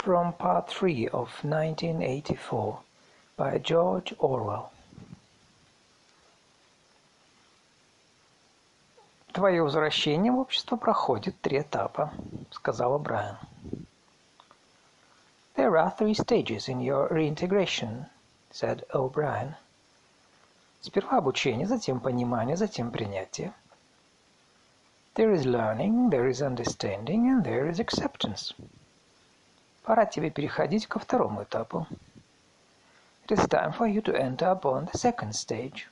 from Part 3 of 1984 by George Orwell. «Твое возвращение в общество проходит 3 этапа», — сказала Брайан. «There are 3 stages in your reintegration», — said O'Brien. «Сперва обучение, затем понимание, затем принятие. There is learning, there is understanding, and there is acceptance. Пора тебе переходить ко второму этапу. It is time for you to enter upon the second stage».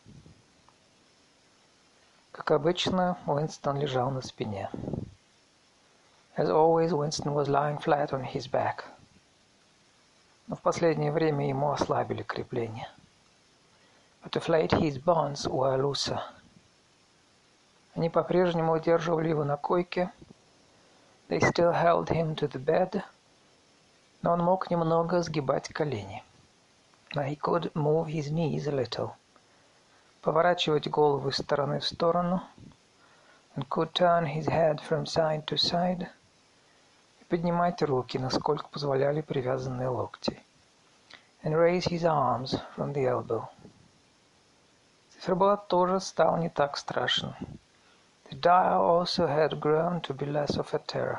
Как обычно, Уинстон лежал на спине. As always, Winston was lying flat on his back. Но в последнее время ему ослабили крепления. But of late his bonds were looser. Они по-прежнему удерживали его на койке. They still held him to the bed. Но он мог немного сгибать колени. But he could move his knees a little. Поворачивать голову из стороны в сторону. And could turn his head from side to side. И поднимать руки, насколько позволяли привязанные локти. And raise his arms from the elbow. Циферблат тоже стал не так страшен. The dial also had grown to be less of a terror.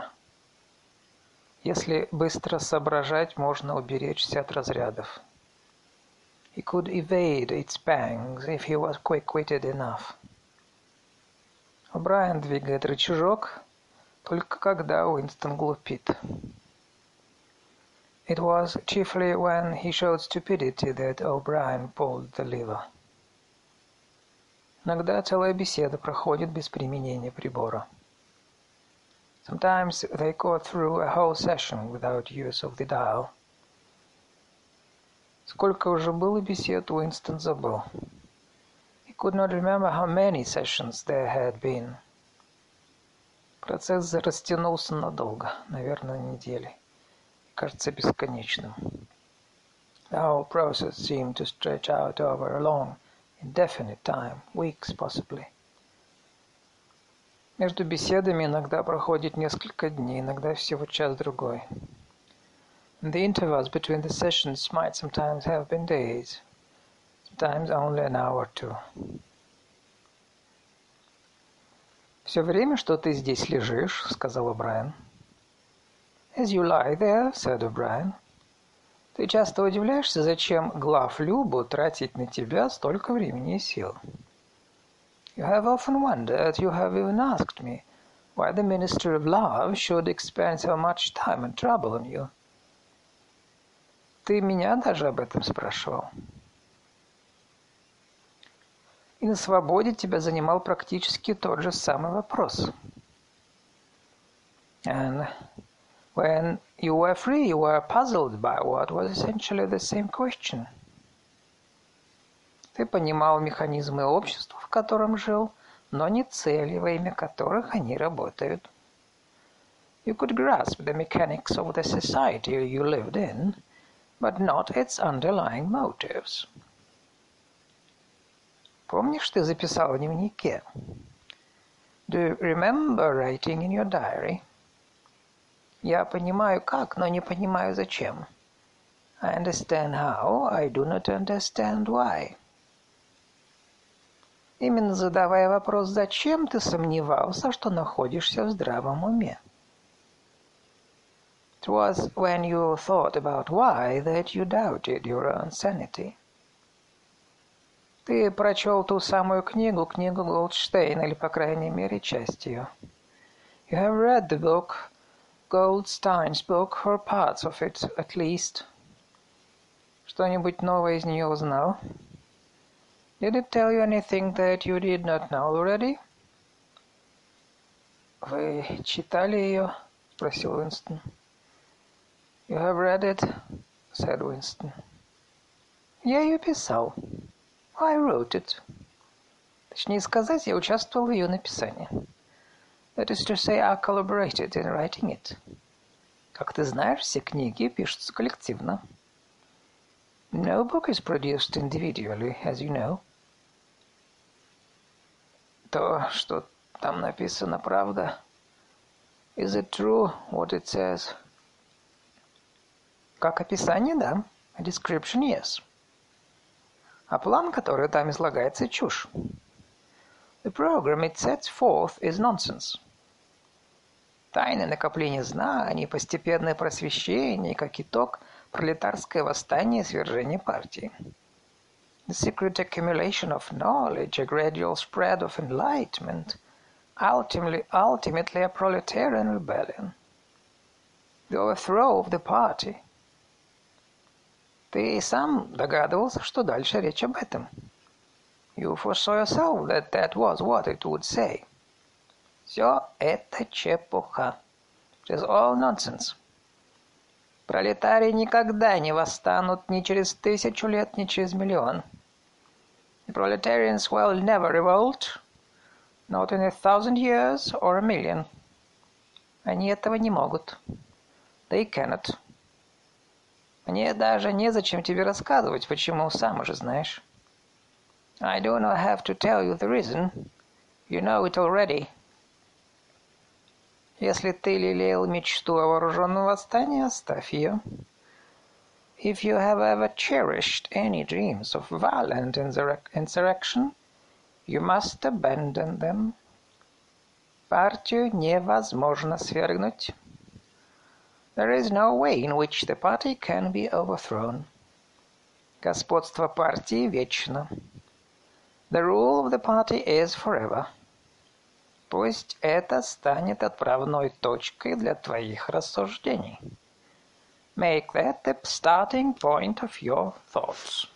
Если быстро соображать, можно уберечься от разрядов. He could evade its pangs if he was quick-witted enough. О'Брайен двигает рычажок, только когда Уинстон глупит. It was chiefly when he showed stupidity that O'Brien pulled the lever. Иногда целая беседа проходит без применения прибора. Sometimes they go through a whole session without use of the dial. Сколько уже было бесед, Уинстон забыл. He could not remember how many sessions there had been. Процесс растянулся надолго, наверное, недели. Кажется бесконечным. The whole process seemed to stretch out over a long, indefinite time, weeks possibly. Между беседами иногда проходит несколько дней, иногда всего час-другой. The intervals between the sessions might sometimes have been days, sometimes only an hour or two. «Все время, что ты здесь лежишь, — сказал О'Брайен. As you lie there, — said O'Brien, — ты часто удивляешься, зачем главлюбу тратить на тебя столько времени и сил. You have often wondered, you have even asked me, why the Minister of Love should expend so much time and trouble on you. Ты меня даже об этом спрашивал. И на свободе тебя занимал практически тот же самый вопрос. And when you were free, you were puzzled by what was essentially the same question. Ты понимал механизмы общества, в котором жил, но не цели, во имя которых они работают. You could grasp the mechanics of the society you lived in, but not its underlying motives. Помнишь, ты записал в дневнике? Do you remember writing in your diary? Я понимаю как, но не понимаю зачем. I understand how, I do not understand why. Именно задавая вопрос «зачем?», ты сомневался, что находишься в здравом уме. It was when you thought about why that you doubted your own sanity. Ты прочел ту самую книгу Голдштейна, или, по крайней мере, часть ее. You have read the book, Goldstein's book, or parts of it, at least. Что-нибудь новое из нее узнал? Did it tell you anything that you did not know already? Вы читали ее? Спросил Уинстон. You have read it, said Winston. Я ее писал. I wrote it. Точнее сказать, я участвовал в ее написании. That is to say, I collaborated in writing it. Как ты знаешь, все книги пишутся коллективно. No book is produced individually, as you know. То, что там написано, правда? Is it true, what it says? Как описание, да. A description, yes. А план, который там излагается, чушь. The program it sets forth is nonsense. Тайное накопление знаний, постепенное просвещение, как итог, пролетарское восстание и свержение партии. The secret accumulation of knowledge, a gradual spread of enlightenment, ultimately a proletarian rebellion. The overthrow of the party. Ты сам догадывался, что дальше речь об этом. You foresaw yourself that that was what it would say. Все это чепуха. It is all nonsense. Пролетарии никогда не восстанут ни через 1000 лет, ни через миллион. The proletarians will never revolt, not in 1000 years or a million. Они этого не могут. They cannot. Мне даже незачем тебе рассказывать, почему, сам уже знаешь. I do not have to tell you the reason. You know it already. Если ты лелеял мечту о вооруженном восстании, оставь ее. If you have ever cherished any dreams of violent insurrection, you must abandon them. Партию невозможно свергнуть. There is no way in which the party can be overthrown. Господство партии вечно. The rule of the party is forever. Пусть это станет отправной точкой для твоих рассуждений. Make that the starting point of your thoughts.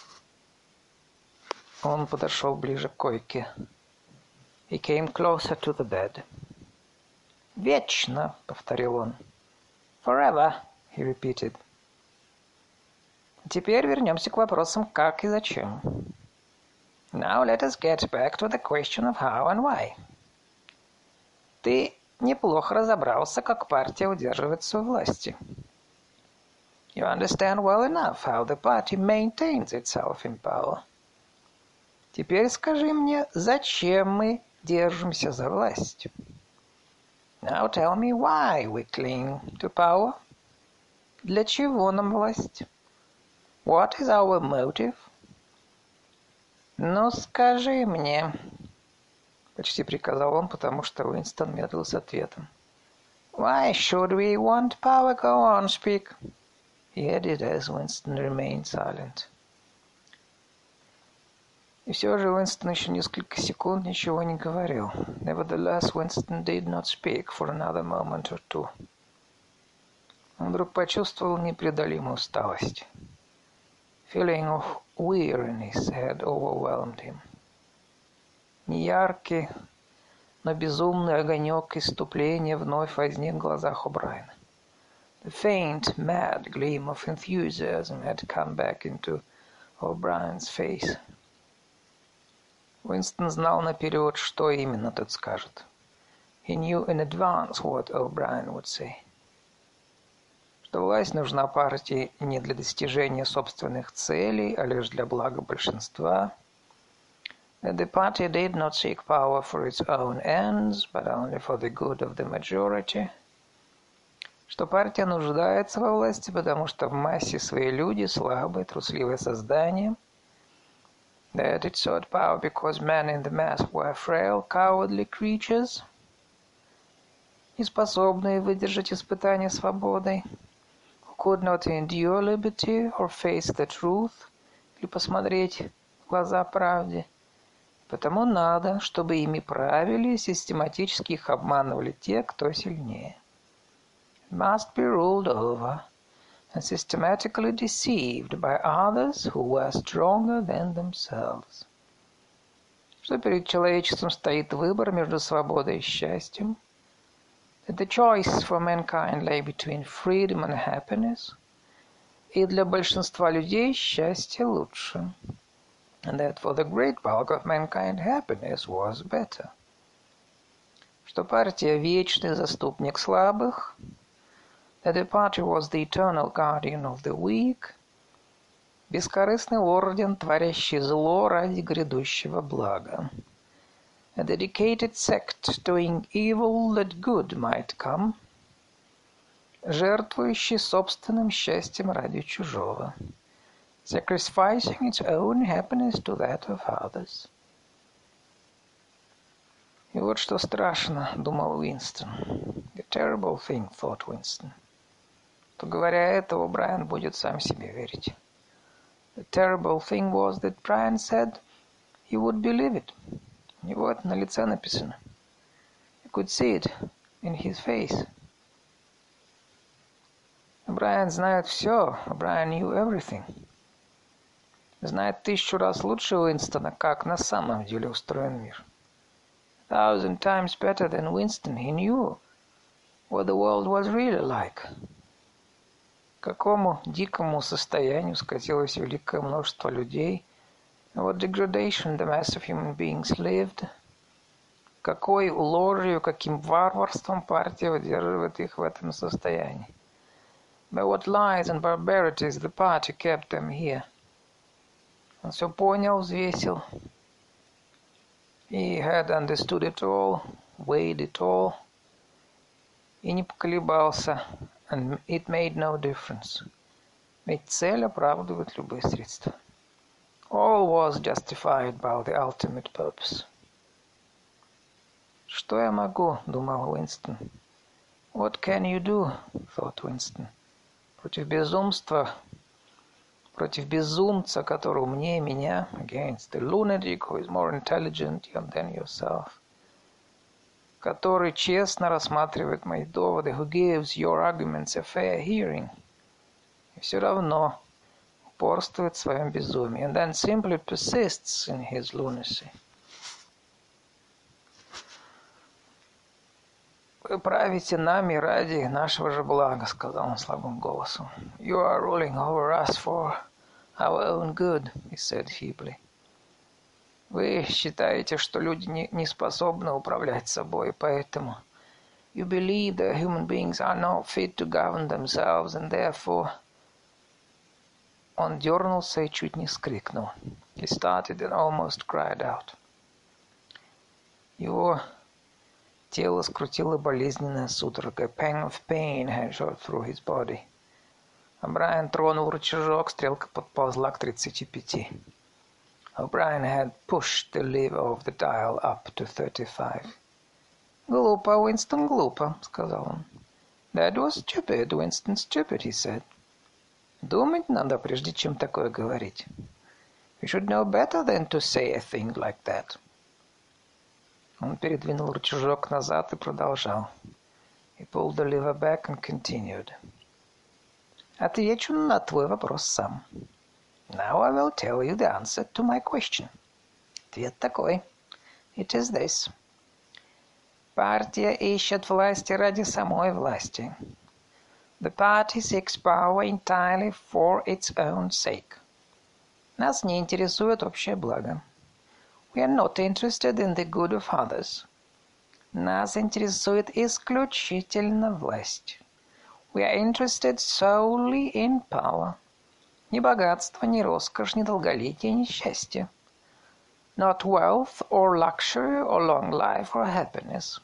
Он подошел ближе к койке. He came closer to the bed. Вечно, повторил он. Forever, he repeated. Теперь вернемся к вопросам как и зачем. Now let us get back to the question of how and why. Ты неплохо разобрался, как партия удерживается у власти. You understand well enough how the party maintains itself in power. Теперь скажи мне, зачем мы держимся за власть? Now tell me why we cling to power. Для чего нам власть? What is our motive? Ну, скажи мне, почти приказал он, потому что Уинстон медлил с ответом. Why should we want power? Go on, speak. He added as Winston remained silent. И все же Уинстон еще несколько секунд ничего не говорил. Nevertheless, Winston did not speak for another moment or two. Он вдруг почувствовал непреодолимую усталость. Feeling of weariness had overwhelmed him. Неяркий, но безумный огонек исступления вновь возник в глазах О'Брайена. The faint, mad gleam of enthusiasm had come back into O'Brien's face. Уинстон знал наперед, что именно тот скажет. He knew in advance what O'Brien would say. Что власть нужна партии не для достижения собственных целей, а лишь для блага большинства. That the party did not seek power for its own ends, but only for the good of the majority. Что партия нуждается во власти, потому что в массе свои люди слабые, трусливые создания. That it sought power because men in the mass were frail, cowardly creatures, не способные выдержать испытания свободой, who could not endure liberty or face the truth, или посмотреть в глаза правде. Потому надо, чтобы ими правили и систематически их обманывали те, кто сильнее. It must be ruled over and systematically deceived by others who were stronger than themselves. Что перед человечеством стоит выбор между свободой и счастьем. That the choice for mankind lay between freedom and happiness. И для большинства людей счастье лучше. And that for the great bulk of mankind happiness was better. Что партия вечный заступник слабых. That the party was the eternal guardian of the weak, бескорыстный орден, творящий зло ради грядущего блага, a dedicated sect doing evil that good might come, жертвующий собственным счастьем ради чужого. Sacrificing its own happiness to that of others. И вот что страшно, думал Уинстон. The terrible thing, thought Winston. То говоря этого, Брайан будет сам себе верить. The terrible thing was that Brian said he would believe it. У него это на лице написано. You could see it in his face. Брайан знает все. Брайан knew everything. Знает 1000 раз лучше Уинстона, как на самом деле устроен мир. 1000 times better than Winston, he knew what the world was really like. К какому дикому состоянию скатилось великое множество людей. What degradation the mass of human beings lived. Какой ложью, каким варварством партия удерживает их в этом состоянии. By what lies and barbarities the party kept them here. Он все понял, взвесил. He had understood it all, weighed it all. И не поколебался. And it made no difference. Ведь цель оправдывает любые средства. All was justified by the ultimate purpose. Что я могу, думал Уинстон. What can you do, thought Winston. Против безумства, против безумца, который умнее меня, against the lunatic who is more intelligent than yourself, который честно рассматривает мои доводы, who gives your arguments a fair hearing, и все равно упорствует в своем безумии, and then simply persists in his lunacy. Вы правите нами ради нашего же блага, сказал он слабым голосом. You are ruling over us for our own good, he said feebly. Вы считаете, что люди не способны управлять собой, поэтому you believe that human beings are not fit to govern themselves, and therefore... Он дернулся и чуть не вскрикнул. He started and almost cried out. Его тело скрутило болезненная судорога. A pang of pain had shot through his body. А Брайан тронул рычажок, стрелка подползла к 35. O'Brien had pushed the lever of the dial up to 35. «Глупо, Уинстон, глупо», — сказал он. «That was stupid, Winston, stupid», he said. «Думать надо, прежде чем такое говорить. You should know better than to say a thing like that». Он передвинул рычажок назад и продолжал. He pulled the lever back and continued. «Отвечу на твой вопрос сам». Now I will tell you the answer to my question. Ответ такой. It is this. Партия ищет власти ради самой власти. The party seeks power entirely for its own sake. Нас не интересует общее благо. We are not interested in the good of others. Нас интересует исключительно власть. We are interested solely in power. Ни богатство, ни роскошь, ни долголетие, ни счастье. Not wealth or luxury or long life or happiness.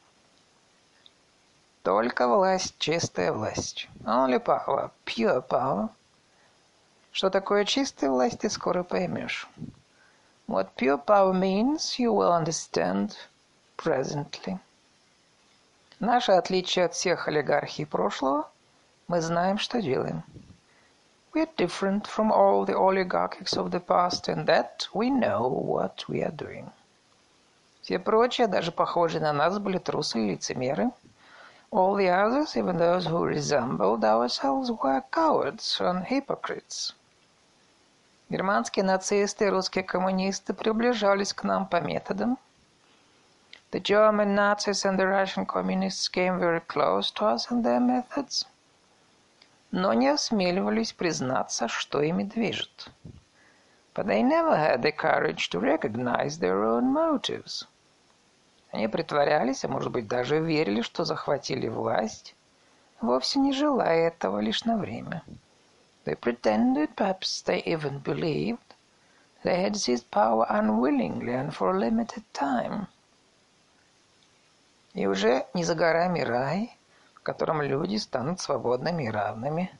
Только власть, чистая власть. Only power, pure power. Что такое чистая власть, ты скоро поймешь. What pure power means, you will understand presently. Наше отличие от всех олигархий прошлого, мы знаем, что делаем. We are different from all the oligarchies of the past, and that we know what we are doing. Все прочие, даже похожие на нас, были трусы и лицемеры. All the others, even those who resembled ourselves, were cowards and hypocrites. Германские нацисты и русские коммунисты приближались к нам по методам. The German Nazis and the Russian communists came very close to us in their methods. Но не осмеливались признаться, что ими движет. But they never had the courage to recognize their own motives. Они притворялись, а может быть даже верили, что захватили власть, вовсе не желая этого, лишь на время. They pretended, perhaps they even believed, they had seized power unwillingly and for a limited time. И уже не за горами рай, в котором люди станут свободными и равными.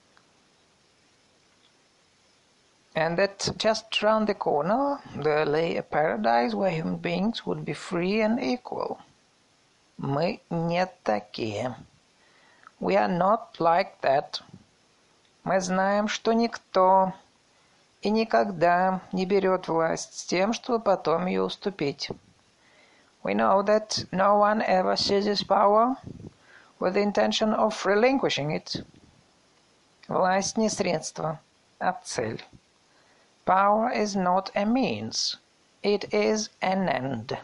And that just round the corner there lay a paradise where human beings would be free and equal. Мы не такие. We are not like that. Мы знаем, что никто и никогда не берет власть с тем, чтобы потом ее уступить. We know that no one ever seizes power with the intention of relinquishing it. Власть не средство, а цель. Power is not a means, it is an end.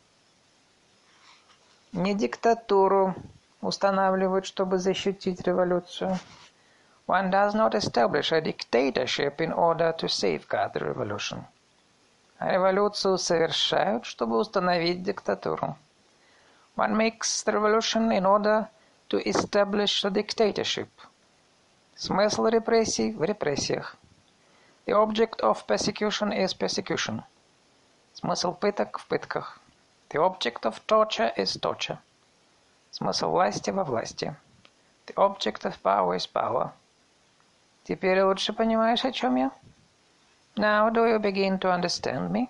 Не диктатуру устанавливают, чтобы защитить революцию. One does not establish a dictatorship in order to safeguard the revolution. А революцию совершают, чтобы установить диктатуру. One makes the revolution in order to establish a dictatorship. Смысл репрессий в репрессиях. The object of persecution is persecution. Смысл пыток в пытках. The object of torture is torture. Смысл власти во власти. The object of power is power. Теперь лучше понимаешь, о чем я? Now do you begin to understand me?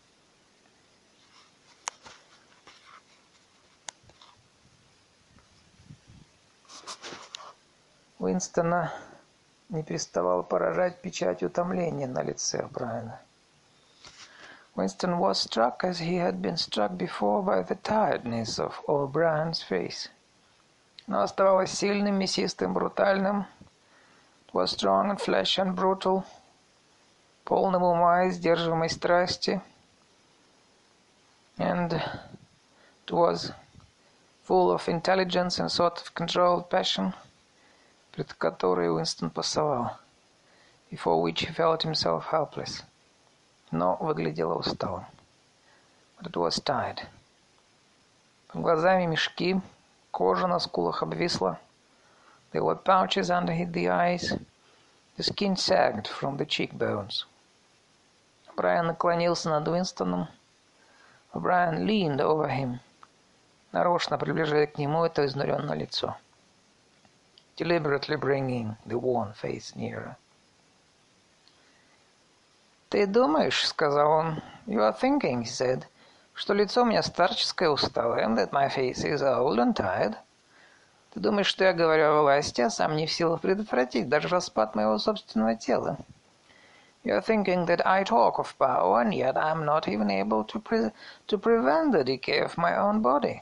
Уинстона не переставал поражать печать утомления на лице Брайана. Winston was struck as he had been struck before by the tiredness of O'Brien's face. Но оставалось сильным, мясистым, брутальным. It was strong and flesh and brutal. Полным ума и сдерживаемой страсти. And it was full of intelligence and sort of controlled passion, пред которой Уинстон пасовал, before which he felt himself helpless. Но выглядело усталым. But it was tired. Под глазами мешки, кожа на скулах обвисла. There were pouches under the eyes. The skin sagged from the cheekbones. Брайан наклонился над Уинстоном. Брайан leaned over him, нарочно приближая к нему это изнуренное лицо. Deliberately bringing the worn face nearer. «Ты думаешь, — сказал он, — you are thinking, he said, что лицо у меня старческое, усталое, that my face is old and tired. Ты думаешь, что я говорю о власти, а сам не в силах предотвратить даже распад моего собственного тела. You are thinking that I talk of power, and yet I am not even able to prevent the decay of my own body.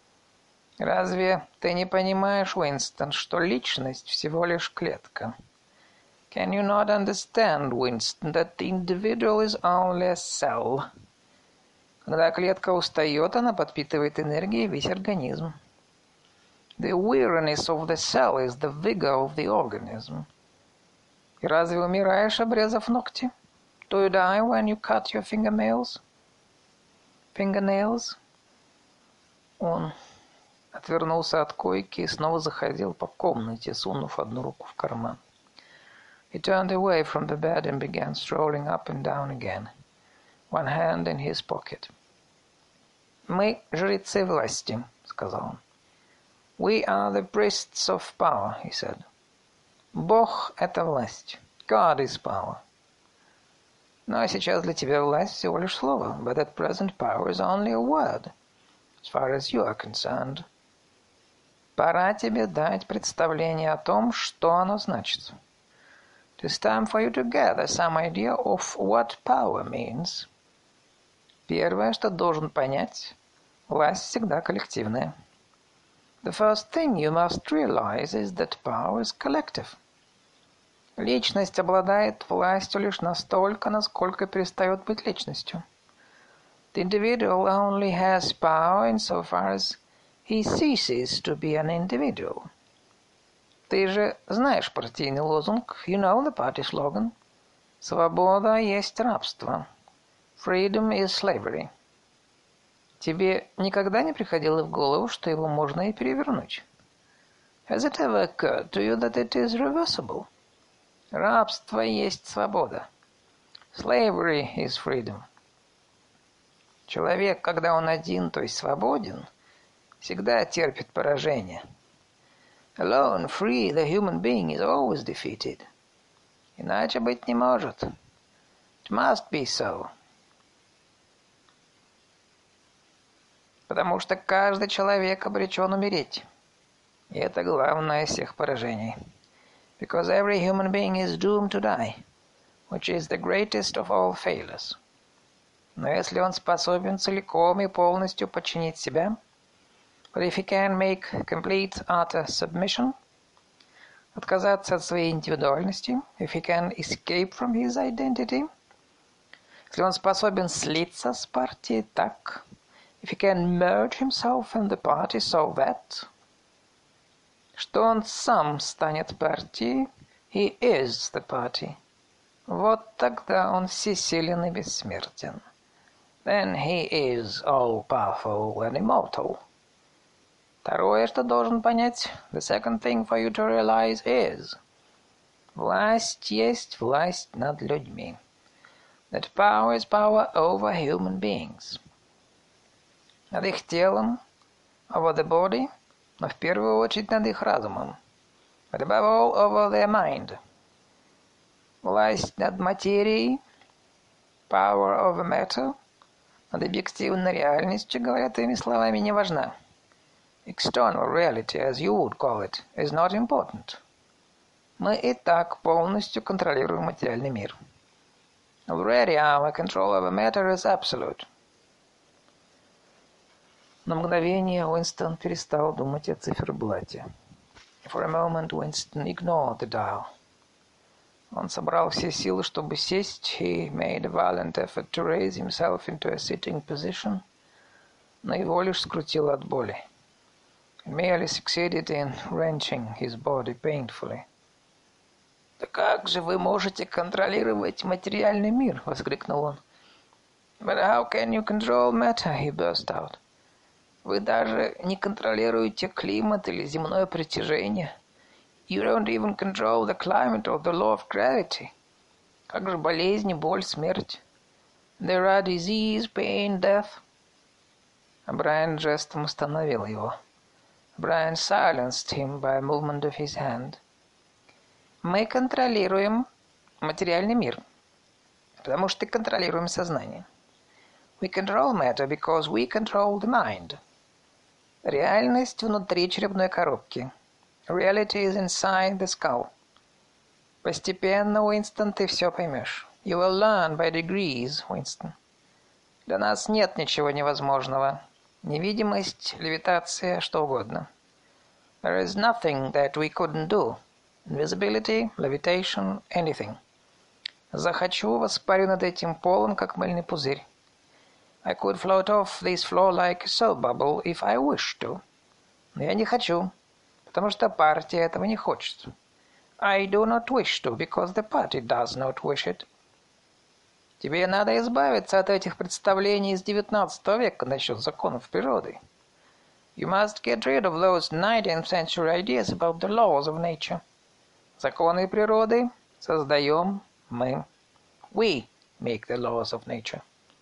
Разве ты не понимаешь, Уинстон, что личность всего лишь клетка? Can you not understand, Winston, that the individual is only a cell? Когда клетка устает, она подпитывает энергией весь организм. The weariness of the cell is the vigor of the organism. И разве умираешь, обрезав ногти? Do you die when you cut your fingernails? Fingernails? Он отвернулся от койки и снова заходил по комнате, сунув одну руку в карман. He turned away from the bed and began strolling up and down again, one hand in his pocket. «Мы жрецы власти», — сказал он. «We are the priests of power», — he said. «Бог — это власть. God is power. Ну а сейчас для тебя власть всего лишь слово, but at present power is only a word, as far as you are concerned. Пора тебе дать представление о том, что оно значит. It is time for you to gather some idea of what power means. Первое, что должен понять, власть всегда коллективная. The first thing you must realize is that power is collective. Личность обладает властью лишь настолько, насколько перестает быть личностью. The individual only has power insofar as he ceases to be an individual. Ты же знаешь партийный лозунг, you know the party slogan. Свобода есть рабство. Freedom is slavery. Тебе никогда не приходило в голову, что его можно и перевернуть? Has it ever occurred to you that it is reversible? Рабство есть свобода. Slavery is freedom. Человек, когда он один, то есть свободен, всегда терпит поражение. Alone, free, the human being is always defeated. Иначе быть не может. It must be so. Потому что каждый человек обречен умереть. И это главное из всех поражений. Because every human being is doomed to die, which is the greatest of all failures. Но если он способен целиком и полностью подчинить себя, but if he can make complete utter submission, отказаться от своей индивидуальности, if he can escape from his identity, если он способен слиться с партией так, if he can merge himself in the party so that, что он сам станет партией, he is the party, вот тогда он всесилен и бессмертен. Then he is all-powerful and immortal. Второе, что должен понять, the second thing for you to realize is, власть есть власть над людьми. That power is power over human beings. Над их телом, over the body, но в первую очередь над их разумом. But above all, over their mind. Власть над материей, power over matter, над объективной реальностью, говоря твоими словами, не важна. External reality, as you would call it, is not important. Мы и так полностью контролируем материальный мир. Already our control over matter is absolute. На мгновение Уинстон перестал думать о циферблате. For a moment Winston ignored the dial. Он собрал все силы, чтобы сесть. He made a violent effort to raise himself into a sitting position, но его лишь скрутило от боли. He merely succeeded in wrenching his body painfully. «Да как же вы можете контролировать материальный мир?» — воскликнул он. «But how can you control matter?» — he burst out. «Вы даже не контролируете климат или земное притяжение. You don't even control the climate or the law of gravity. Как же болезни, боль, смерть? There are disease, pain, death». А Брайан жестом остановил его. Brian silenced him by a movement of his hand. Мы контролируем материальный мир, потому что контролируем сознание. We control matter because we control the mind. Реальность внутри черепной коробки. Reality is inside the skull. Постепенно, Уинстон, ты все поймешь. You will learn by degrees, Winston. Для нас нет ничего невозможного. Невидимость, левитация, что угодно. There is nothing that we couldn't do. Invisibility, levitation, anything. Захочу, воспарю над этим полом, как мыльный пузырь. I could float off this floor like a soap bubble if I wished to. Но я не хочу, потому что партия этого не хочет. I do not wish to, because the party does not wish it. Тебе надо избавиться от этих представлений из XIX века насчет законов природы. You must get rid of those 19th century ideas about the laws of nature. Законы природы создаем мы. We make the laws of nature.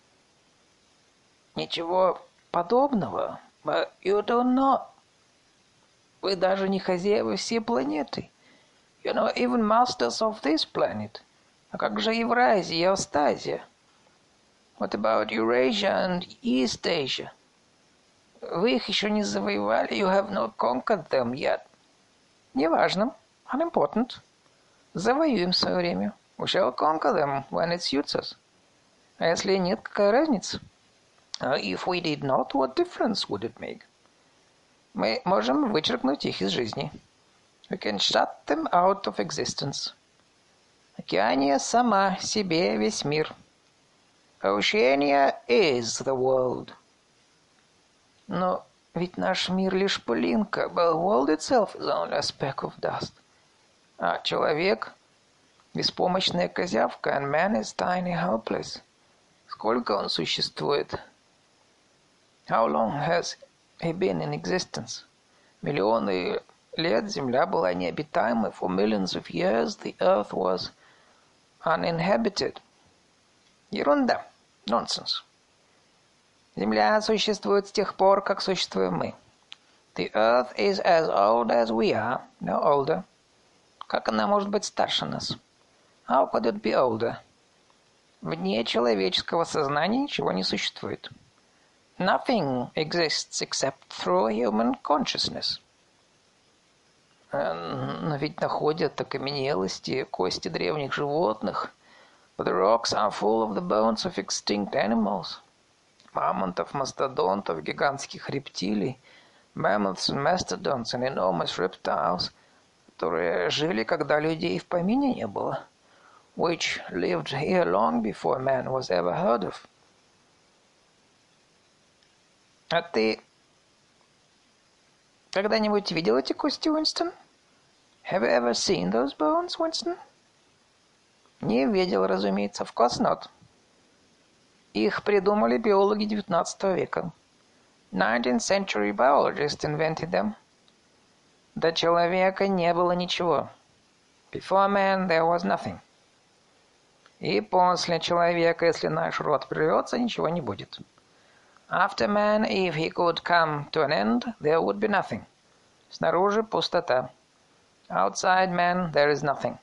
Ничего подобного. But you do not. Вы даже не хозяева всей планеты. You're not even masters of this planet. А как же Евразия и Австазия? What about Eurasia and East Asia? Вы их еще не завоевали. You have not conquered them yet. Неважно. Unimportant. Завоюем в свое время. We shall conquer them when it suits us. А если нет, какая разница? If we did not, what difference would it make? Мы можем вычеркнуть их из жизни. We can shut them out of existence. Океания сама себе весь мир. Oceania is the world. Но ведь наш мир лишь пылинка. But the world itself is only a speck of dust. А человек — беспомощная козявка, and man is tiny helpless. Сколько он существует? How long has he been in existence? Миллионы лет Земля была необитаемой. For millions of years the earth was uninhabited. Ерунда. Nonsense. Земля существует с тех пор, как существуем мы. The Earth is as old as we are, no older. Как она может быть старше нас? How could it be older? Вне человеческого сознания ничего не существует. Nothing exists except through human consciousness. Но ведь находят окаменелости, кости древних животных. But the rocks are full of the bones of extinct animals. Мамонтов, мастодонтов, гигантских рептилий. Mammoths and mastodons and enormous reptiles, которые жили, когда людей в помине не было. Which lived here long before man was ever heard of. А ты когда-нибудь видел эти кости, Уинстон? Have you ever seen those bones, Winston? Не видел, разумеется, of course not. Их придумали биологи XIX века. 19th century biologists invented them. До человека не было ничего. Before man there was nothing. И после человека, если наш род прервется, ничего не будет. After man, if he could come to an end, there would be nothing. Снаружи пустота. Outside man, there is nothing.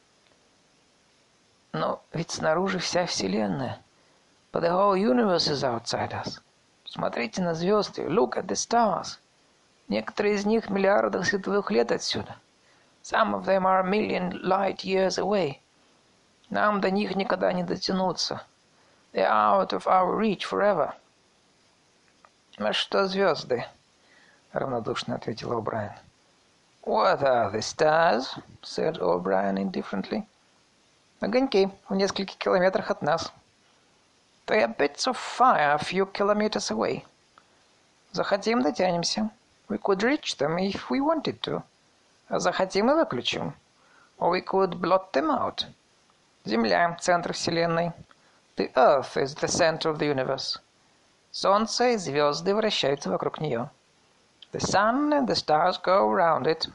Но ведь снаружи вся Вселенная. But the whole universe is outside us. Смотрите на звезды. Look at the stars. Некоторые из них миллиарды световых лет отсюда. Some of them are a million light years away. Нам до них никогда не дотянуться. They are out of our reach forever. А что звезды? Равнодушно ответил О'Брайен. What are the stars? Said O'Brien indifferently. Огоньки в нескольких километрах от нас. They are bits of fire a few kilometers away. Захотим, дотянемся. We could reach them if we wanted to. А захотим и выключим. Or we could blot them out. Земля – центр Вселенной. The Earth is the center of the universe. Солнце и звезды вращаются вокруг нее. The sun and the stars go around it.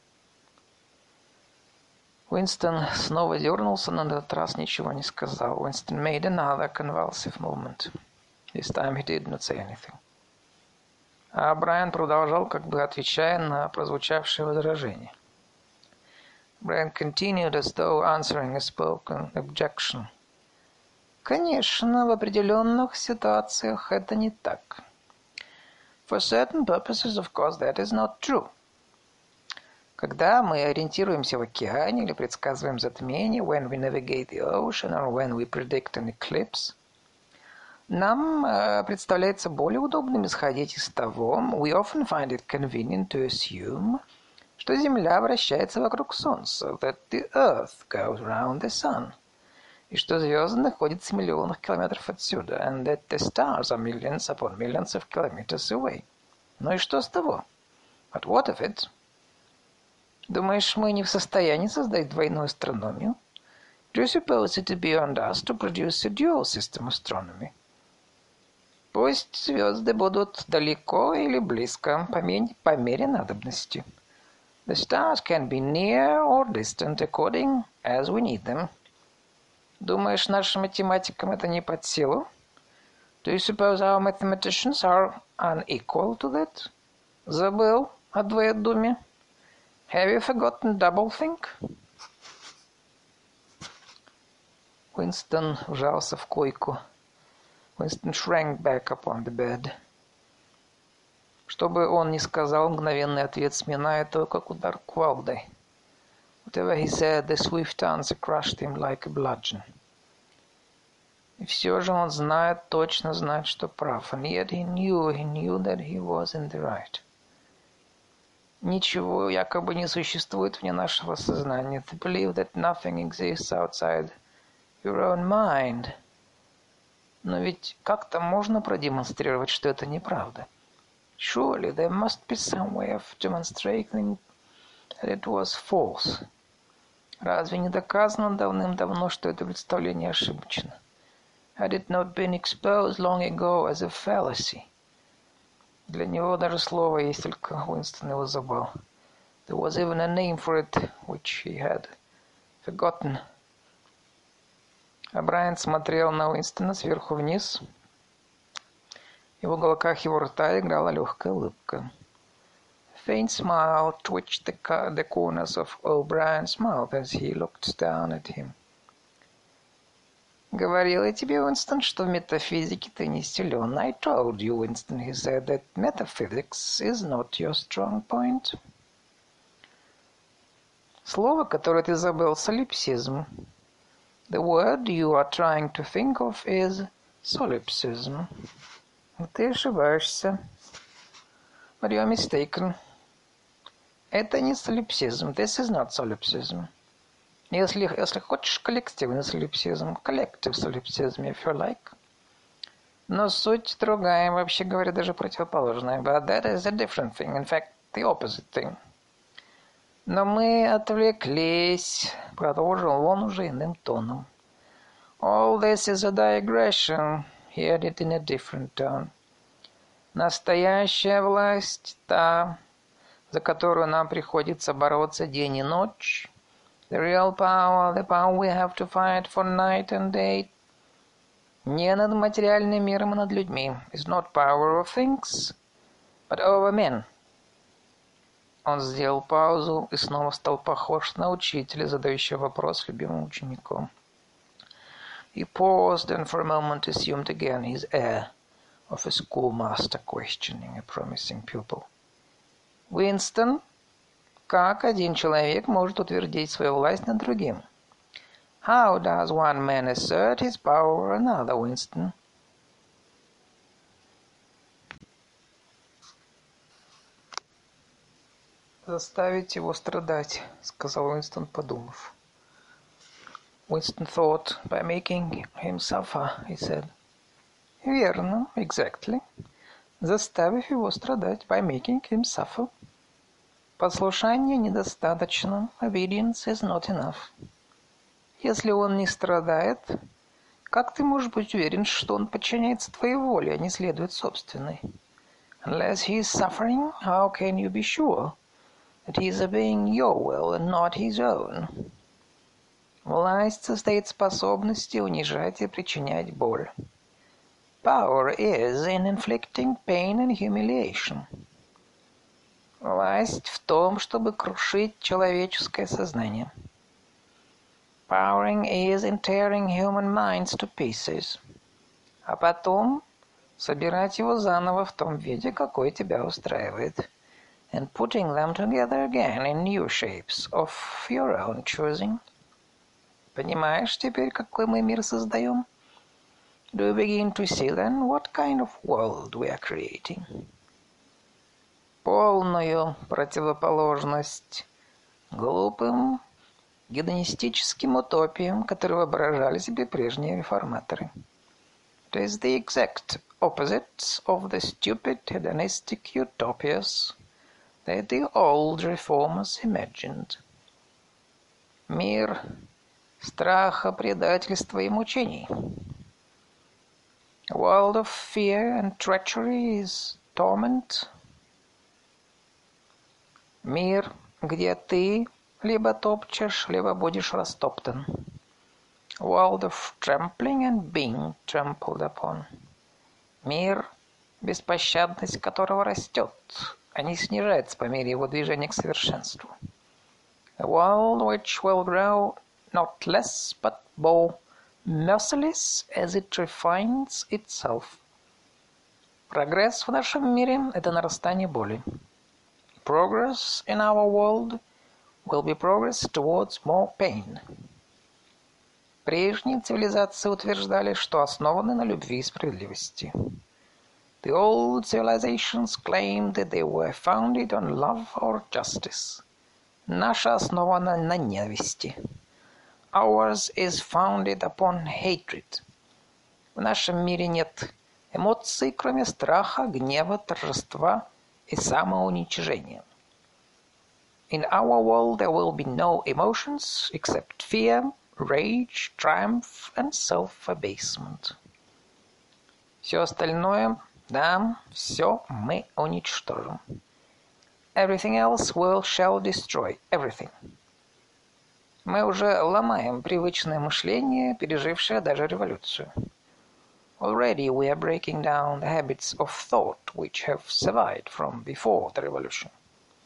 Уинстон снова дернулся, но на этот раз ничего не сказал. Winston made another convulsive movement. This time he did not say anything. А Брайан продолжал, как бы отвечая на прозвучавшее возражение. Брайан continued as though answering a spoken objection. Конечно, в определенных ситуациях это не так. For certain purposes, of course, that is not true. Когда мы ориентируемся в океане или предсказываем затмение, when we navigate the ocean or when we predict an eclipse, нам представляется более удобным исходить из того, we often find it convenient to assume, что Земля вращается вокруг Солнца, that the Earth goes round the Sun, и что звезды находятся в миллионах километров отсюда, and that the stars are millions upon millions of kilometers away. Ну и что с того? But what of it? Думаешь, мы не в состоянии создать двойную астрономию? Do you suppose it beyond us to produce a dual system astronomy? Пусть звезды будут далеко или близко, по мере надобности. The stars can be near or distant according as we need them. Думаешь, нашим математикам это не под силу? Do you suppose our mathematicians are unequal to that? Забыл о двоедуме? Have you forgotten doublethink? Уинстон вжался в койку. Winston shrank back upon the bed. Что бы он ни сказал, мгновенный ответ сминая то, как удар кувалдой. Whatever he said, the swift answer crushed him like a bludgeon. И все же он знает, точно знает, что прав. And yet he knew that he was in the right. Ничего якобы не существует вне нашего сознания. To believe that nothing exists outside your own mind. Но ведь как-то можно продемонстрировать, что это неправда. Surely there must be some way of demonstrating that it was false. Разве не доказано давным-давно, что это представление ошибочно? Had it not been exposed long ago as a fallacy? Для него даже слово есть, только Уинстон его забыл. There was even a name for it, which he had forgotten. А Брайан смотрел на Уинстона сверху вниз, и в уголках его рта играла легкая улыбка. faint smile twitched the corners of O'Brien's mouth as he looked down at him. «Говорил я тебе, Уинстон, что в метафизике ты не силен. I told you, Winston, he said, that metaphysics is not your strong point». Слово, которое ты забыл, солипсизм. The word you are trying to think of is solipsism. Ты ошибаешься. But you are mistaken. Это не солипсизм. This is not solipsism. Если хочешь, коллективный солипсизм. Collective solipsism, if you like. Но суть другая, вообще говоря, даже противоположная. But that is a different thing. In fact, the opposite thing. Но мы отвлеклись, продолжил он уже иным тоном. All this is a digression, he added in a different tone. Настоящая власть, та, за которую нам приходится бороться день и ночь, the real power, the power we have to fight for night and day, не над материальным миром и над людьми, is not power of things, but over men. Он сделал паузу и снова стал похож на учителя, задающего вопрос любимым учеником. He paused and for a moment assumed again his air of a schoolmaster questioning a promising pupil. Уинстон, как один человек может утвердить свою власть над другим? How does one man assert his power over another, Winston? Заставить его страдать, сказал Уинстон, подумав. Winston thought, by making him suffer, he said. Верно, exactly. Заставив его страдать, by making him suffer. Послушания недостаточно, obedience is not enough. Если он не страдает, как ты можешь быть уверен, что он подчиняется твоей воле, а не следует собственной? Unless he is suffering, how can you be sure that he is obeying your will and not his own? Власть состоит в способности унижать и причинять боль. Power is in inflicting pain and humiliation. Власть в том, чтобы крушить человеческое сознание. Powering is in tearing human minds to pieces. А потом собирать его заново в том виде, какой тебя устраивает. And putting them together again in new shapes of your own choosing. Понимаешь теперь, какой мы мир создаем? Do you begin to see then what kind of world we are creating? Полную противоположность глупым гедонистическим утопиям, которые воображали себе прежние реформаторы. It is the exact opposite of the stupid hedonistic utopias that the old reformers imagined. Мир страха, предательства и мучений. A world of fear and treachery is torment. Мир, где ты либо топчешь, либо будешь растоптан. A world of trampling and being trampled upon. Мир, беспощадность которого растет, а не снижается по мере его движения к совершенству. A world which will grow not less but more merciless as it refines itself. Прогресс в нашем мире – это нарастание боли. Progress in our world will be progress towards more pain. Прежние цивилизации утверждали, что основаны на любви и справедливости. The old civilizations claimed that they were founded on love or justice. Наша основана на ненависти. Ours is founded upon hatred. В нашем мире нет эмоций, кроме страха, гнева, торжества и самоуничижения. In our world there will be no emotions except fear, rage, triumph and self-abasement. Все остальное, да, все мы уничтожим. Everything else shall destroy everything. Мы уже ломаем привычное мышление, пережившее даже революцию. Already we are breaking down the habits of thought which have survived from before the revolution.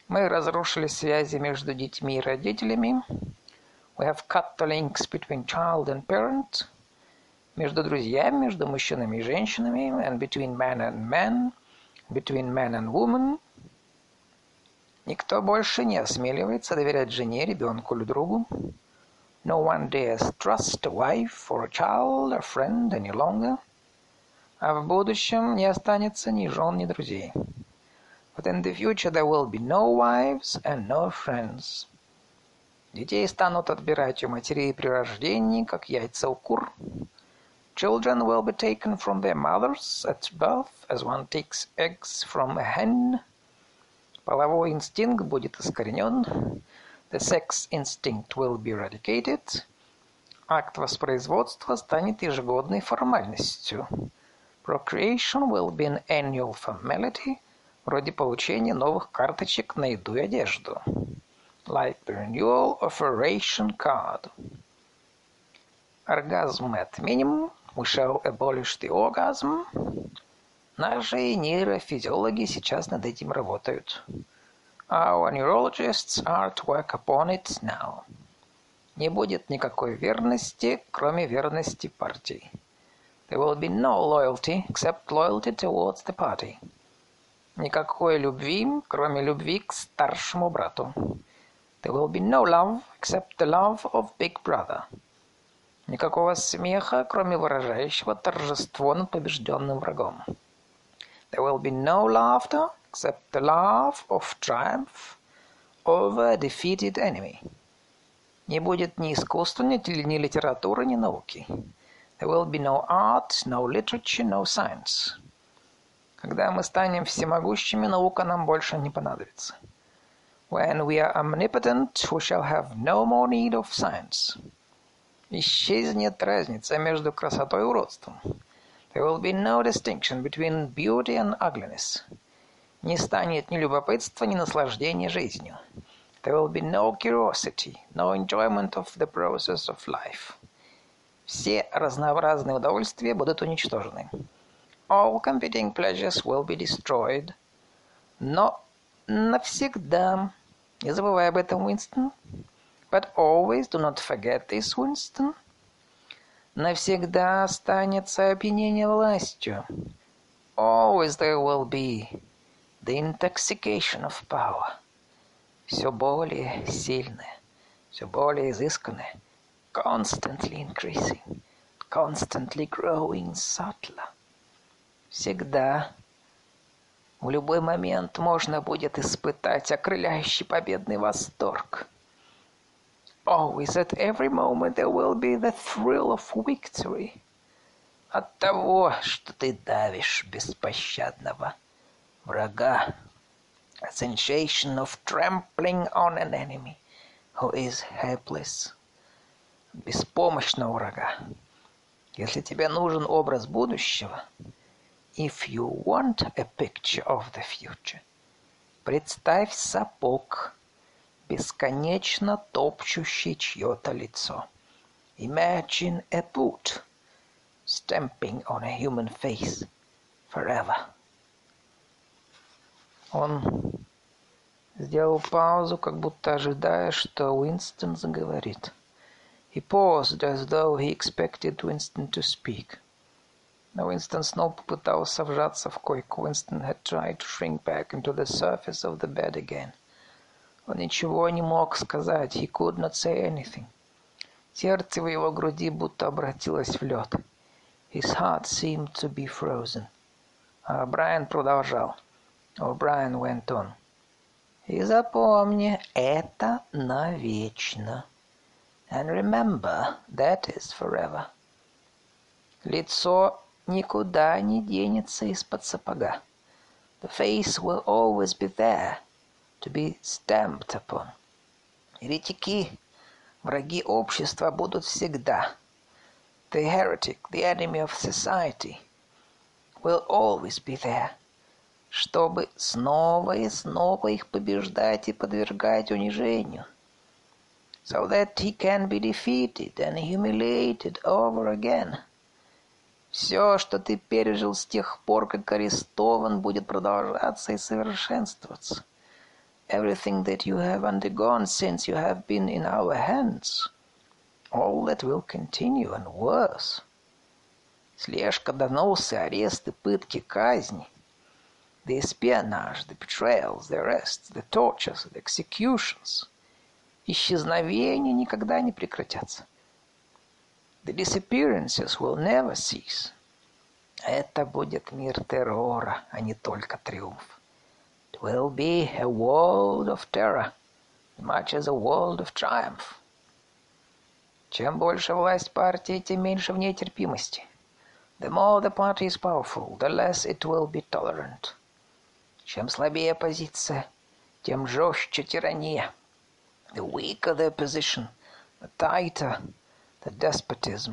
Мы разрушили связи между детьми и родителями. We have cut the links between child and parent. Между друзьями, между мужчинами и женщинами. And between man and man. Between man and woman. Никто больше не осмеливается доверять жене, ребенку или другу. No one dares trust a wife or a child or friend any longer. А в будущем не останется ни жен, ни друзей. But in the future there will be no wives and no friends. Детей станут отбирать у матерей при рождении, как яйца у кур. Children will be taken from their mothers at birth, as one takes eggs from a hen. Половой инстинкт будет искоренен. The sex instinct will be eradicated. Акт воспроизводства станет ежегодной формальностью. Procreation will be an annual formality, вроде получения новых карточек на еду и одежду. Like the renewal of a ration card. Оргазм мы отменим. We shall abolish the orgasm. Наши нейрофизиологи сейчас над этим работают. Our neurologists are at work upon it now. Не будет никакой верности, кроме верности партии. There will be no loyalty except loyalty towards the party. Никакой любви, кроме любви к старшему брату. There will be no love except the love of big brother. Никакого смеха, кроме выражающего торжество над побежденным врагом. There will be no laughter except the laugh of triumph over a defeated enemy. Не будет ни искусства, ни литературы, ни науки. There will be no art, no literature, no science. Когда мы станем всемогущими, наука нам больше не понадобится. When we are omnipotent, we shall have no more need of science. Исчезнет разница между красотой и уродством. There will be no distinction between beauty and ugliness. Не станет ни любопытства, ни наслаждения жизнью. There will be no curiosity, no enjoyment of the process of life. Все разнообразные удовольствия будут уничтожены. All competing pleasures will be destroyed. Но навсегда, не забывай об этом, Уинстон. But always do not forget this, Winston. Навсегда останется опьянение властью. Always there will be the intoxication of power. Все более сильное, все более изысканное. Constantly increasing, constantly growing subtler. Всегда, в любой момент можно будет испытать окрыляющий победный восторг. Always, at every moment, there will be the thrill of victory. От того, что ты давишь беспощадного врага. A sensation of trampling on an enemy who is helpless. Беспомощного врага. Если тебе нужен образ будущего, if you want a picture of the future, представь сапог, бесконечно топчущий чье-то лицо. Imagine a boot stamping on a human face forever. Он сделал паузу, как будто ожидая, что Уинстон заговорит. He paused as though he expected Winston to speak. Но Уинстон снова попытался вжаться в койку. Winston had tried to shrink back into the surface of the bed again. Он ничего не мог сказать. He could not say anything. Сердце в его груди будто обратилось в лед. His heart seemed to be frozen. А Брайан продолжал. O'Brien went on. И запомни, это навечно. And remember, that is forever. Лицо никуда не денется из-под сапога. The face will always be there, to be stamped upon. Еретики, враги общества будут всегда. The heretic, the enemy of society, will always be there, чтобы снова и снова их побеждать и подвергать унижению. So that he can be defeated and humiliated over again. Все, что ты пережил с тех пор, как арестован, будет продолжаться и совершенствоваться. everything that you have undergone since you have been in our hands, all that will continue and worse. Слежка, доносы, аресты, пытки, казни, the espionage, the betrayals, the arrests, the tortures, the executions. Исчезновения никогда не прекратятся. The disappearances will never cease. Это будет мир террора, а не только триумф. It will be a world of terror, as much as a world of triumph. Чем больше власть партии, тем меньше в ней терпимости. The more the party is powerful, the less it will be tolerant. Чем слабее оппозиция, тем жестче тирания. The weaker the opposition, the tighter the despotism.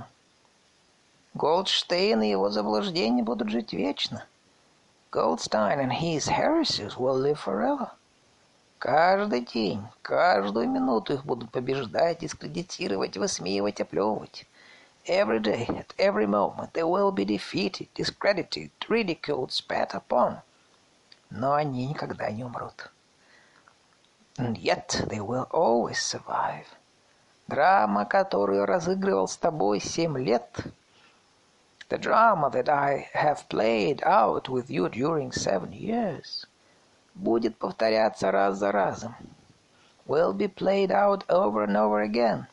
Голдштейн и его заблуждения будут жить вечно. Goldstein and his heresies will live forever. Каждый день, каждую минуту их будут побеждать, дискредитировать, высмеивать, оплевывать. Every day, at every moment, they will be defeated, discredited, ridiculed, spat upon. Но они никогда не умрут. And yet they will always survive. Драма, которую разыгрывал с тобой 7 лет, the drama that I have played out with you during 7 years, будет повторяться раз за разом, will be played out over and over again,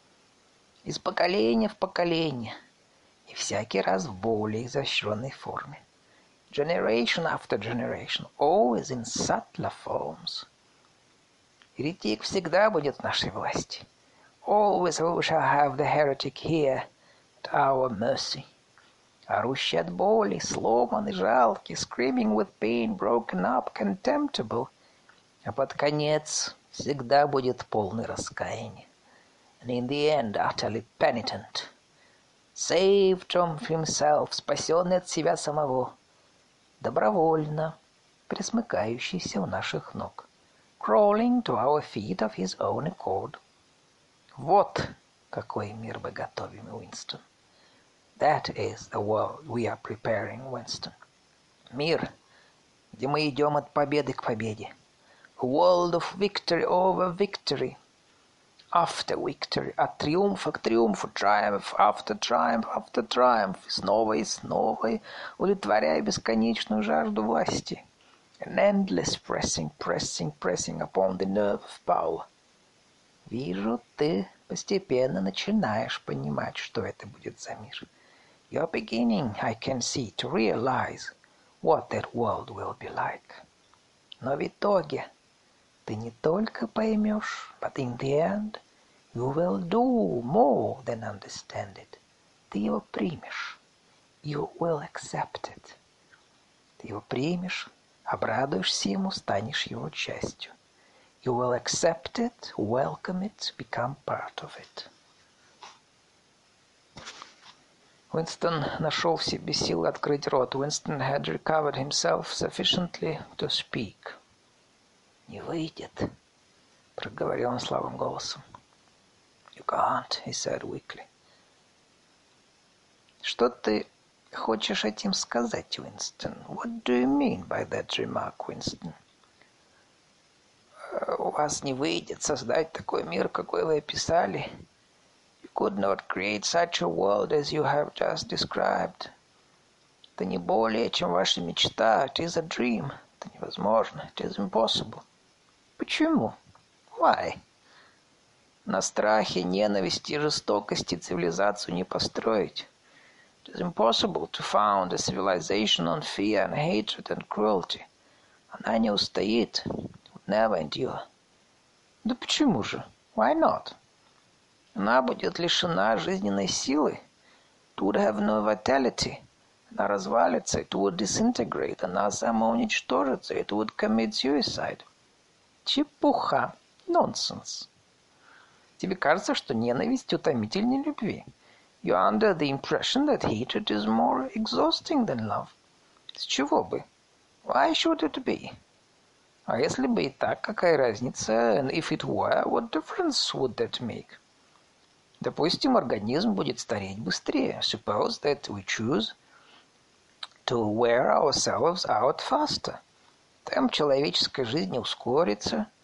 из поколения в поколение, и всякий раз в более изощренной форме. Generation after generation, always in subtler forms. Еретик всегда будет в нашей власти. Always we shall have the heretic here at our mercy. Орущий от боли, сломанный, жалкий, screaming with pain, broken up, contemptible. А под конец всегда будет полный раскаяния. And in the end, utterly penitent. Saved from himself, спасенный от себя самого. Добровольно, присмыкающийся у наших ног. Crawling to our feet of his own accord. Вот какой мир мы готовим, Уинстон. That is the world we are preparing, Winston. Мир, где мы идем от победы к победе. A world of victory over victory. After victory. От триумфа к триумфу. Triumph after triumph after triumph. И снова, удовлетворяя бесконечную жажду власти. An endless pressing upon the nerve of power. Вижу, ты постепенно начинаешь понимать, что это будет за мир. You're beginning, I can see, to realize what that world will be like. Но в итоге ты не только поймешь, but in the end you will do more than understand it. Ты его примешь. You will accept it. Ты его примешь, обрадуешься ему, станешь его частью. You will accept it, welcome it, become part of it. Уинстон нашел в себе силы открыть рот. Winston had recovered himself sufficiently to speak. «Не выйдет», — проговорил он слабым голосом. «You can't», — he said weakly. «Что ты хочешь этим сказать, Уинстон? What do you mean by that remark, Winston?» «У вас не выйдет создать такой мир, какой вы описали. You could not create such a world as you have just described. Это не более, чем ваша мечта. It is a dream. Это невозможно. It is impossible». «Почему? Why?» «На страхе, ненависти и жестокости цивилизацию не построить. It is impossible to found a civilization on fear and hatred and cruelty. Она не устоит. Would never endure». «Да почему же? Why not?» «Она будет лишена жизненной силы. It would have no vitality. Она развалится. It would disintegrate. Она самоуничтожится. It would commit suicide». «Чепуха. Nonsense. Тебе кажется, что ненависть утомительнее любви. You're under the impression that hatred is more exhausting than love. С чего бы? Why should it be? А если бы и так, какая разница? And if it were, what difference would that make? Допустим, организм будет стареть быстрее. Suppose that we choose to wear ourselves out faster. Темп человеческой жизни ускорится.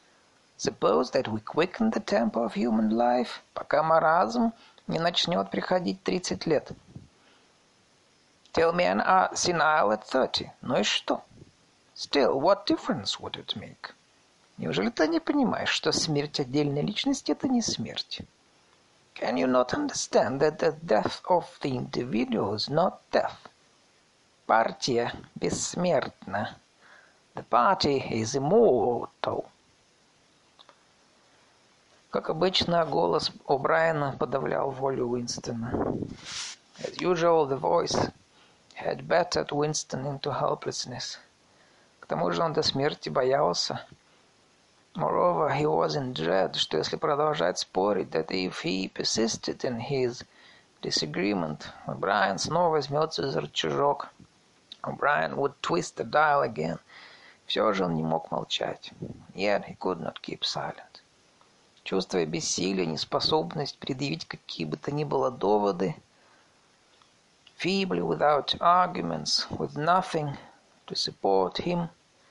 Suppose that we quicken the tempo of human life, пока маразм не начнет приходить 30 лет. Till men are senile at 30. Ну и что? Still, what difference would it make? Неужели ты не понимаешь, что смерть отдельной личности – это не смерть? Can you not understand that the death of the individual is not death? Партия бессмертна. The party is immortal. Как обычно, голос О'Брайена подавлял волю Уинстона. As usual, the voice had battered Winston into helplessness. К тому же он до смерти боялся. Moreover, he was in dread, что если продолжать спорить, that if he persisted in his disagreement, O'Brien снова возьмется за рычажок. O'Brien would twist the dial again. Все же он не мог молчать. Yet he could not keep silent. Чувствуя бессилие, неспособность предъявить какие бы то ни было доводы, feebly, without arguments, with nothing to support him,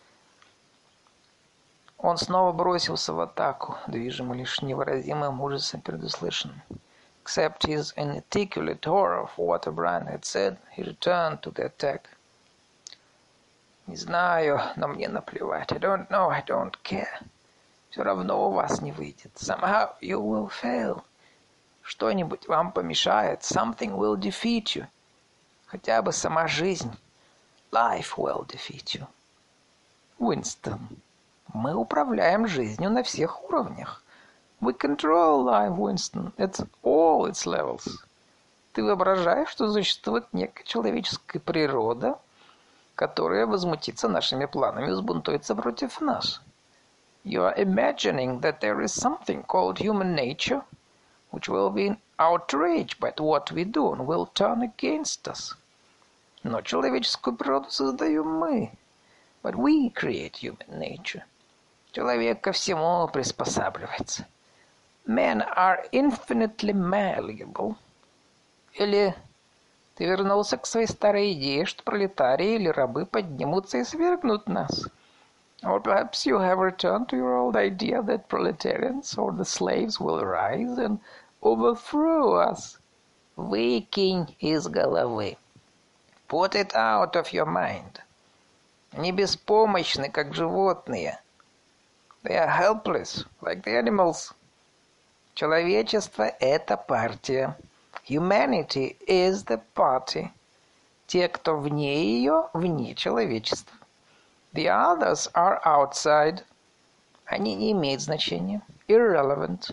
он снова бросился в атаку, движимый лишь невыразимым ужасом перед услышанным. Except his inarticulate horror of what O'Brien had said, he returned to the attack. Не знаю, но мне наплевать. I don't know, I don't care. Все равно у вас не выйдет. Somehow you will fail. Что-нибудь вам помешает. Something will defeat you. Хотя бы сама жизнь. Life will defeat you. Уинстон, мы управляем жизнью на всех уровнях. We control life, Winston, at all its levels. Ты воображаешь, что существует некая человеческая природа, которая возмутится нашими планами и взбунтуется против нас. You are imagining that there is something called human nature, which will be outraged by what we do and will turn against us. Но человеческую природу создаем мы. But we create human nature. Человек ко всему приспосабливается. Men are infinitely malleable. Или ты вернулся к своей старой идее, что пролетарии или рабы поднимутся и свергнут нас? Or perhaps you have returned to your old idea that proletarians or the slaves will rise and overthrow us. Выкинь из головы. Put it out of your mind. Они беспомощны, как животные. They are helpless, like the animals. Человечество – это партия. Humanity is the party. Те, кто вне ее, вне человечества. The others are outside. Они не имеют значения. Irrelevant.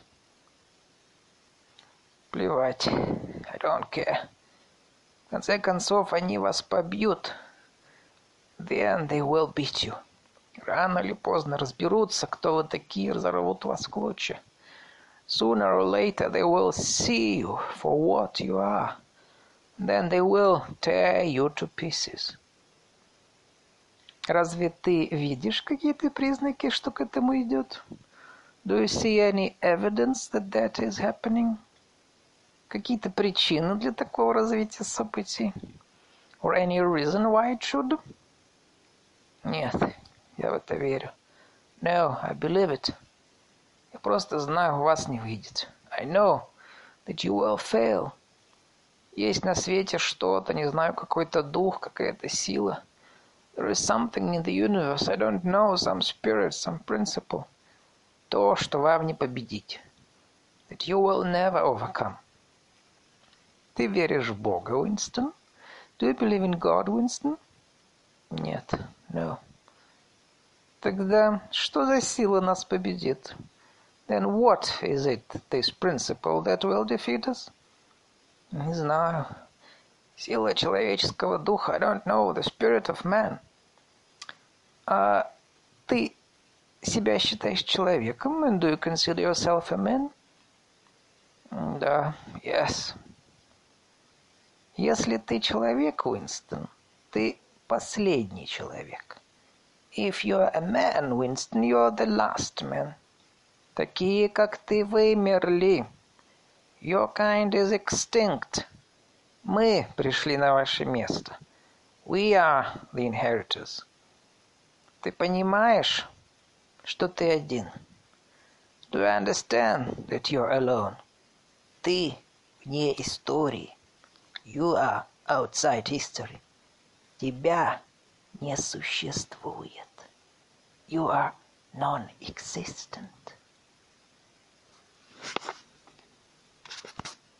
Плевать. I don't care. В конце концов, они вас побьют. Then they will beat you. Рано или поздно разберутся, кто вы такие, разорвут вас в клочья. Sooner or later they will see you for what you are. Then they will tear you to pieces. Разве ты видишь какие-то признаки, что к этому идет? Do you see any evidence that that is happening? Какие-то причины для такого развития событий? Or any reason why it should? Нет, я в это верю. No, I believe it. Я просто знаю, у вас не выйдет. I know that you will fail. Есть на свете что-то, не знаю, какой-то дух, какая-то сила. There is something in the universe, I don't know, some spirit, some principle. То, что вам не победить. That you will never overcome. Ты веришь в Бога, Уинстон? Do you believe in God, Winston? Нет, no. Тогда что за сила нас победит? Then what is it, this principle, that will defeat us? Не знаю. Сила человеческого духа, I don't know, the spirit of man. А ты себя считаешь человеком? And do you consider yourself a man? Да, yes. Если ты человек, Уинстон, ты последний человек. If you're a man, Winston, you're the last man. Такие, как ты, вымерли. Your kind is extinct. Мы пришли на ваше место. We are the inheritors. Ты понимаешь, что ты один? Do you understand that you're alone? Ты вне истории. You are outside history. Тебя не существует. You are non-existent.